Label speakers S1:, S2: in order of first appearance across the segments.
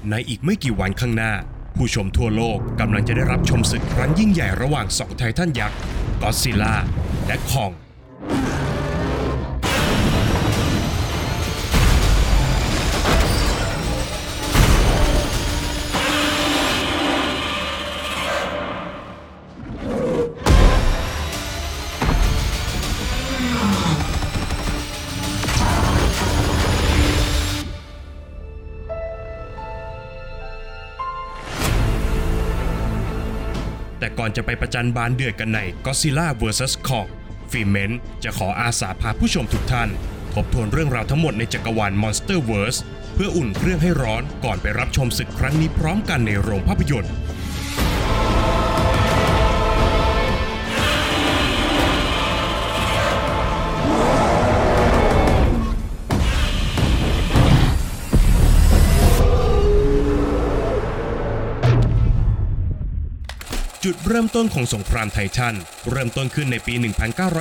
S1: ในอีกไม่กี่วันข้างหน้าผู้ชมทั่วโลกกำลังจะได้รับชมศึกครั้งยิ่งใหญ่ระหว่างสองไททันยักษ์ก็อดซิลล่าและคองแต่ก่อนจะไปประจันบานเดือดกันใน Godzilla vs Kong ฟิเมนจะขออาสาพาผู้ชมทุกท่านทบทวนเรื่องราวทั้งหมดในจักรวาล Monsterverse เพื่ออุ่นเครื่องให้ร้อนก่อนไปรับชมศึกครั้งนี้พร้อมกันในโรงภาพยนตร์จุดเริ่มต้นของสงครามไททันเริ่มต้นขึ้นในปี 1973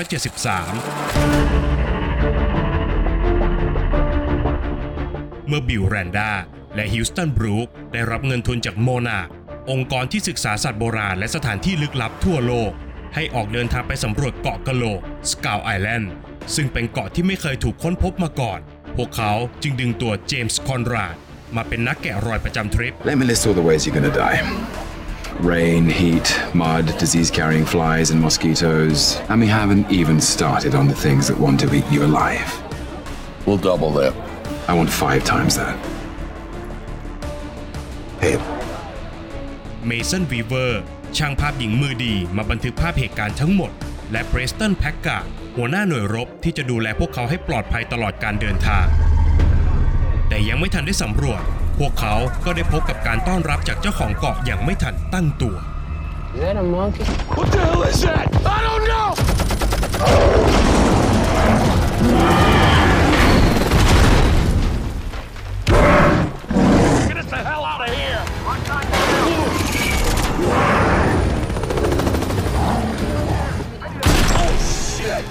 S1: เมื่อบิล แรนดาและฮิวสตัน บรูคได้รับเงินทุนจากโมนาร์คองค์กรที่ศึกษาสัตว์โบราณและสถานที่ลึกลับทั่วโลกให้ออกเดินทางไปสำรวจเกาะกะโหลก สกาวไอแลนด์ซึ่งเป็นเกาะที่ไม่เคยถูกค้นพบมาก่อนพวกเขาจึงดึงตัวเจมส์ คอนราดมาเป็นนักแกะรอยประจำทริป
S2: Let me list all the ways you're gonna die. Rain, heat, mud, disease-carrying flies and mosquitoes. And we haven't even started on the things that want to eat you alive.
S3: We'll double that.
S2: I want 5 times that. Hey.
S1: เมสัน วีเวอร์ช่างภาพหญิงมือดีมาบันทึกภาพเหตุการณ์ทั้งหมดและเพรสตัน แพ็กการ์ดหัวหน้าหน่วยรบที่จะดูแลพวกเขาให้ปลอดภัยตลอดการเดินทางแต่ยังไม่ทันได้สำรวจพวกเขาก็ได้พบกับการต้อนรับจากเจ้าของเกาะอย่างไม่ทันตั้งตัว
S4: Is that a monkey?
S3: What the hell is that? I don't know! Get us the hell out of here! Oh, shit!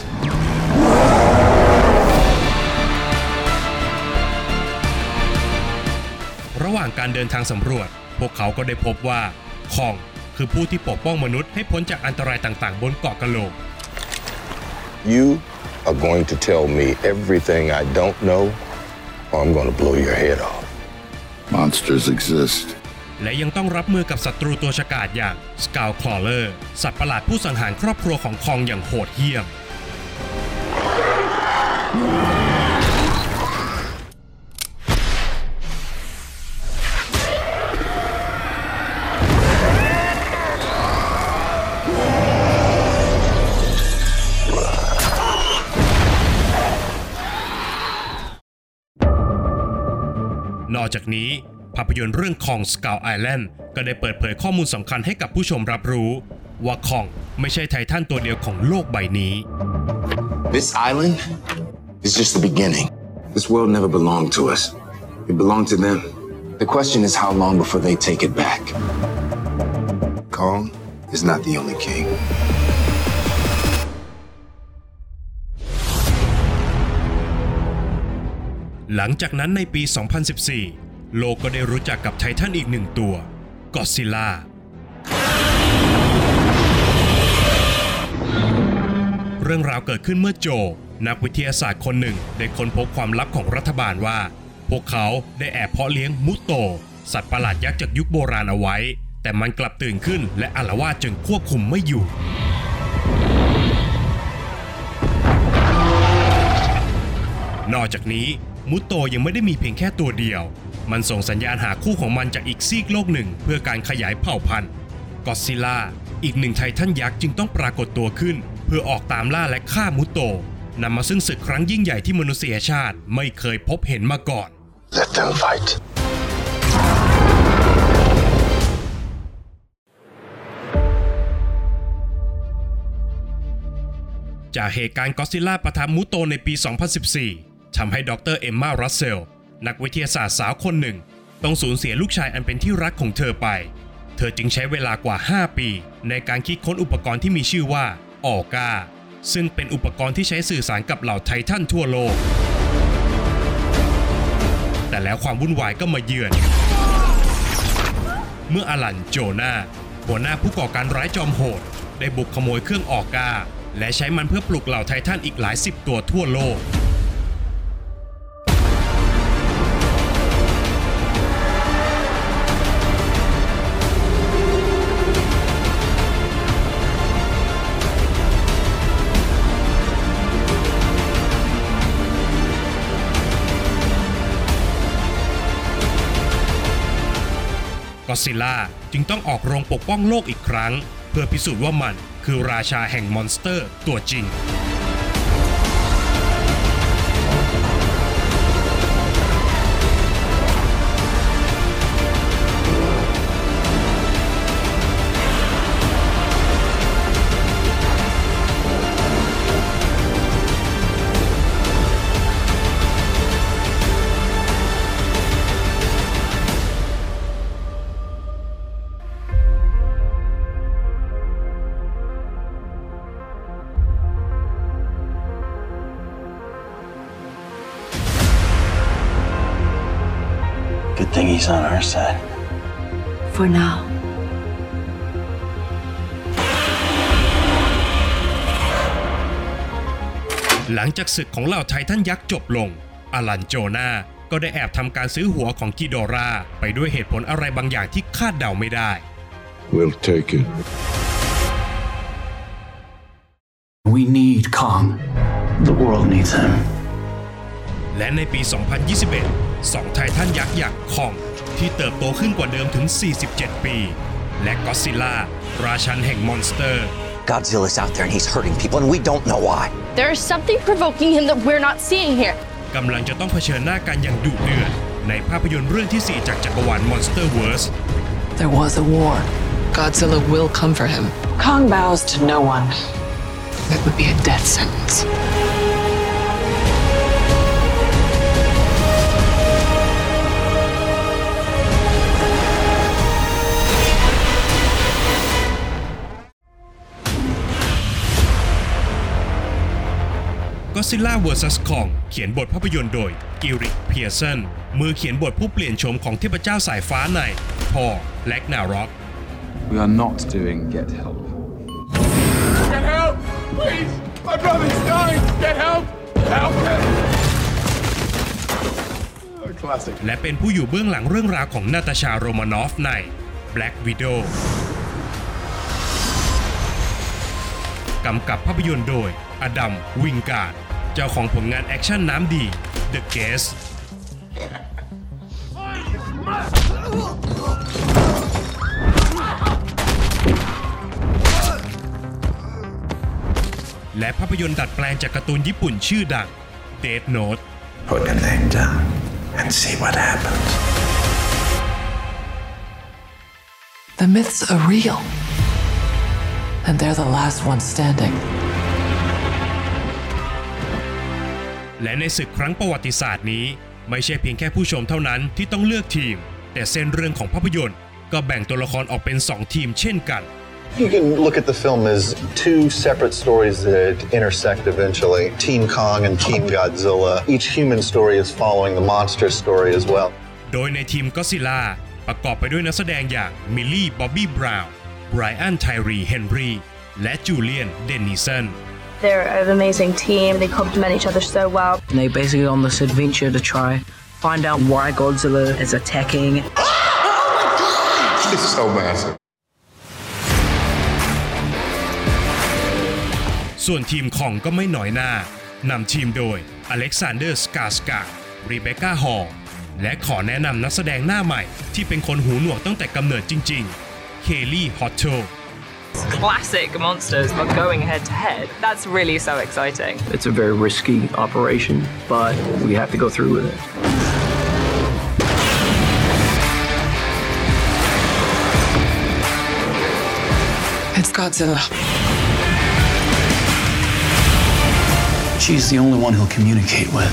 S1: ระหว่างการเดินทางสำรวจพวกเขาก็ได้พบว่าคองคือผู้ที่ปกป้องมนุษย์ให้พ้นจากอันตรายต่างๆบนเกาะกะโหลก
S3: You are going to tell me everything I don't know, or I'm going to blow your head off.
S5: Monsters exist.
S1: และยังต้องรับมือกับศัตรูตัวฉกาจอย่างสกาวคลอเลอร์สัตว์ประหลาดผู้สังหารครอบครัวของคองอย่างโหดเหี้ยมนอกจากนี้ภาพยนตร์เรื่องคอง สกาวไอแลนด์ก็ได้เปิดเผยข้อมูลสำคัญให้กับผู้ชมรับรู้ว่าคองไม่ใช่ไททันตัวเดียวของโลกใบนี้
S6: This island is just the beginning.
S2: This world never belonged to us. It belonged to them.
S6: The question is how long before they take it back.
S2: Kong is not the only king.
S1: หลังจากนั้นในปี 2014 โลกก็ได้รู้จักกับไททันอีกหนึ่งตัวก็อดซิลล่าเรื่องราวเกิดขึ้นเมื่อโจนักวิทยาศาสตร์คนหนึ่งได้ค้นพบความลับของรัฐบาลว่าพวกเขาได้แอบเพาะเลี้ยงมุโตสัตว์ประหลาดยักษ์จากยุคโบราณเอาไว้แต่มันกลับตื่นขึ้นและอาละวาดจนควบคุมไม่อยู่นอกจากนี้มุโตยังไม่ได้มีเพียงแค่ตัวเดียวมันส่งสัญญาณหาคู่ของมันจากอีกซีกโลกหนึ่งเพื่อการขยายเผ่าพันธุ์ก็อดซิลล่าอีกหนึ่งไททันยักษ์จึงต้องปรากฏตัวขึ้นเพื่อออกตามล่าและฆ่ามุโตนำมาซึ่งศึกครั้งยิ่งใหญ่ที่มนุษยชาติไม่เคยพบเห็นมาก่อน
S3: Let them fight.
S1: จากเหตุการณ์ก็อดซิลล่าปะทะมุโตในปี 2014 ทำให้ดร. เอมม่า รัสเซลนักวิทยาศาสตร์สาวคนหนึ่งต้องสูญเสียลูกชายอันเป็นที่รักของเธอไปเธอจึงใช้เวลากว่า 5 ปีในการคิดค้นอุปกรณ์ที่มีชื่อว่าออก้าซึ่งเป็นอุปกรณ์ที่ใช้สื่อสารกับเหล่าไททันทั่วโลกแต่แล้วความวุ่นวายก็มาเยือนเมื่ออลันโจนาหัวหน้าผู้ก่อการร้ายจอมโหดได้บุกขโมยเครื่องออกาและใช้มันเพื่อปลุกเหล่าไททันอีกหลายสิบตัวทั่วโลกก็อดซิลล่าจึงต้องออกโรงปกป้องโลกอีกครั้งเพื่อพิสูจน์ว่ามันคือราชาแห่งมอนสเตอร์ตัวจริง
S7: Good thing he's on our side.
S8: For now.
S1: หลังจากศึกของเหล่าไททันยักษ์จบลงอลันโจนาก็ได้แอบทำการซื้อหัวของกิโดราไปด้วยเหตุผลอะไรบางอย่างที่คาดเดาไม่ได้
S5: We'll take it.
S7: We need Kong. The world needs him.
S1: และในปี 2021 2 ไททันยักษ์อย่างคองที่เติบโตขึ้นกว่าเดิมถึง 47 ปี และก็อดซิลล่าราชันแห่งมอนสเตอร์
S6: Godzilla's out there and he's hurting people and we don't know why.
S9: There is something provoking him that we're not seeing here.
S1: กำลังจะต้องเผชิญหน้ากันอย่างดุเดือดในภาพยนตร์เรื่องที่ 4 จากจักรวาล Monsterverse.
S8: There was a war. Godzilla will come for him. Kong bows to no one. That would be a death sentence.
S1: Godzilla vs. Kong เขียนบทภาพยนตร์โดยกิริก เพียร์สันมือเขียนบทผู้เปลี่ยนโฉมของเทพเจ้าสายฟ้าในทอร์ แร็กนาร็อก
S2: We are not doing Get Help.
S3: Get help! Please! My brother's dying! Get help! Help him! Classic.
S1: และเป็นผู้อยู่เบื้องหลังเรื่องราวของนาตาชา โรมานอฟใน Black Widow กำกับภาพยนตร์โดยอดัม วิงการ์ดเจ้าของผลงานแอคชั่นน้ำดี The Guest และภาพยนตร์ดัดแปลงจากการ์ตูนญี่ปุ่นชื่อดัง Death Note
S7: Put your name down and see what happens.
S8: The myths are real. And they're the last ones standing.
S1: และในศึกครั้งประวัติศาสตร์นี้ไม่ใช่เพียงแค่ผู้ชมเท่านั้นที่ต้องเลือกทีมแต่เส้นเรื่องของภาพยนตร์ก็แบ่งตัวละครออกเป็น2ทีมเช่นกัน
S10: You can look at the film as two separate stories that intersect eventually. Team Kong and Team Godzilla. Each human story is following the monster story as well.
S1: โดยในทีมก็อดซิลล่าประกอบไปด้วยนักแสดงอย่างมิลลี่ บ๊อบบี้ บราวน์ ไบรอัน ไทรี เฮนรีและจูเลียน เดนนิสัน
S9: They're an amazing team. They complement each other so well.
S4: And they basically on this adventure to try find out why Godzilla is attacking.
S3: It's so massive.
S1: ส่วนทีมของก็ไม่น้อยหน้านำทีมโดยอเล็กซานเดอร์ สกาสการ์ด รีเบคก้า ฮอลล์และขอแนะนำนักแสดงหน้าใหม่ที่เป็นคนหูหนวกตั้งแต่กำเนิดจริงๆ เคลลี่ ฮอตโช
S11: Classic monsters, but going head to head. That's really so exciting.
S4: It's a very risky operation, but we have to go through with it.
S8: It's Godzilla.
S7: She's the only one he'll communicate with.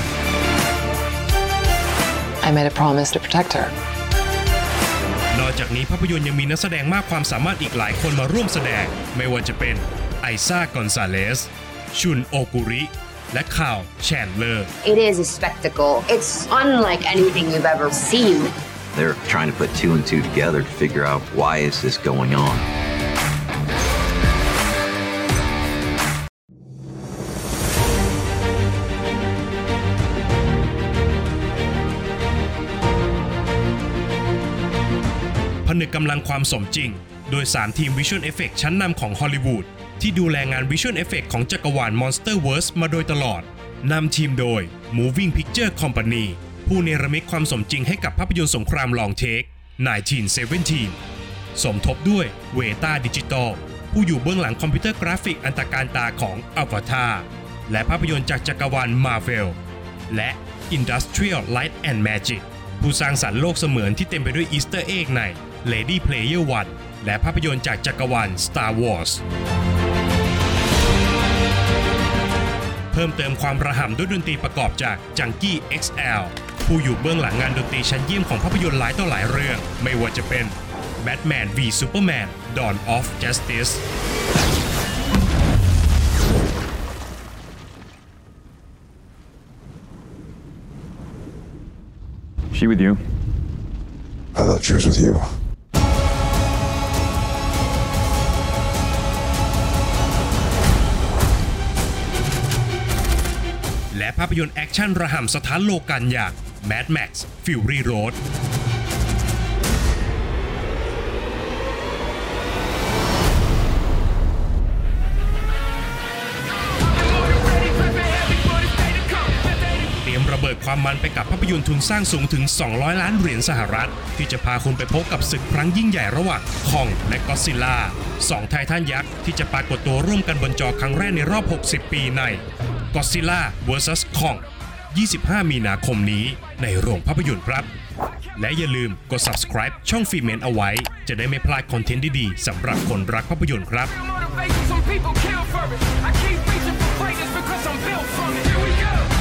S8: I made a promise to protect her.
S1: นอกจากนี้ภาพยนตร์ยังมีนักแสดงมากความสามารถอีกหลายคนมาร่วมแสดงไม่ว่าจะเป็นไอซ่า กอนซาเลส ชุน โอกุริ และข่าว แชนเลอร์
S12: It is a spectacle. It's unlike anything you've ever seen. They're trying to put two and two together to figure out why is this going on.
S1: ผนึกกำลังความสมจริงโดย3ทีม Visual Effects ชั้นนำของฮอลลีวูดที่ดูแลงาน Visual Effects ของจักรวาล Monsterverse มาโดยตลอดนำทีมโดย Moving Picture Company ผู้เนรมิตความสมจริงให้กับภาพยนตร์สงครามลองเทค 1917 สมทบด้วยเวต้าดิจิตอลผู้อยู่เบื้องหลังคอมพิวเตอร์กราฟิกอันตรการตาของ Avatar และภาพยนตร์จากจักรวาล Marvel และ Industrial Light and Magic ผู้สร้างสรรค์โลกเสมือนที่เต็มไปด้วยอีสเตอร์เอ็กใน Ready Player One และภาพยนตร์จากจักรวาล Star Wars เพิ่มเติมความระห่ำด้วยดนตรีประกอบจาก Junkie XL ผู้อยู่เบื้องหลังงานดนตรีชั้นเยี่ยมของภาพยนตร์หลายต่อหลายเรื่องไม่ว่าจะเป็น Batman v Superman Dawn of Justice
S13: She with you?
S5: I thought she was with you.
S1: และภาพยนตร์แอคชั่นระห่ำสถานโลกันอย่าง Mad Max Fury Roadระเบิดความมันไปกับภาพยนตร์ทุนสร้างสูงถึง200 ล้านเหรียญสหรัฐที่จะพาคุณไปพบกับศึกครั้งยิ่งใหญ่ระหว่างคองและก็อดซิลล่า2ไททันยักษ์ที่จะปรากฏตัวร่วมกันบนจอครั้งแรกในรอบ60 ปีใน Godzilla vs Kong 25 มีนาคมนี้ในโรงภาพยนตร์ครับและอย่าลืมกด subscribe ช่องฟิเมนเอาไว้จะได้ไม่พลาดคอนเทนต์ดีๆสำหรับคนรักภาพยนตร์ครับ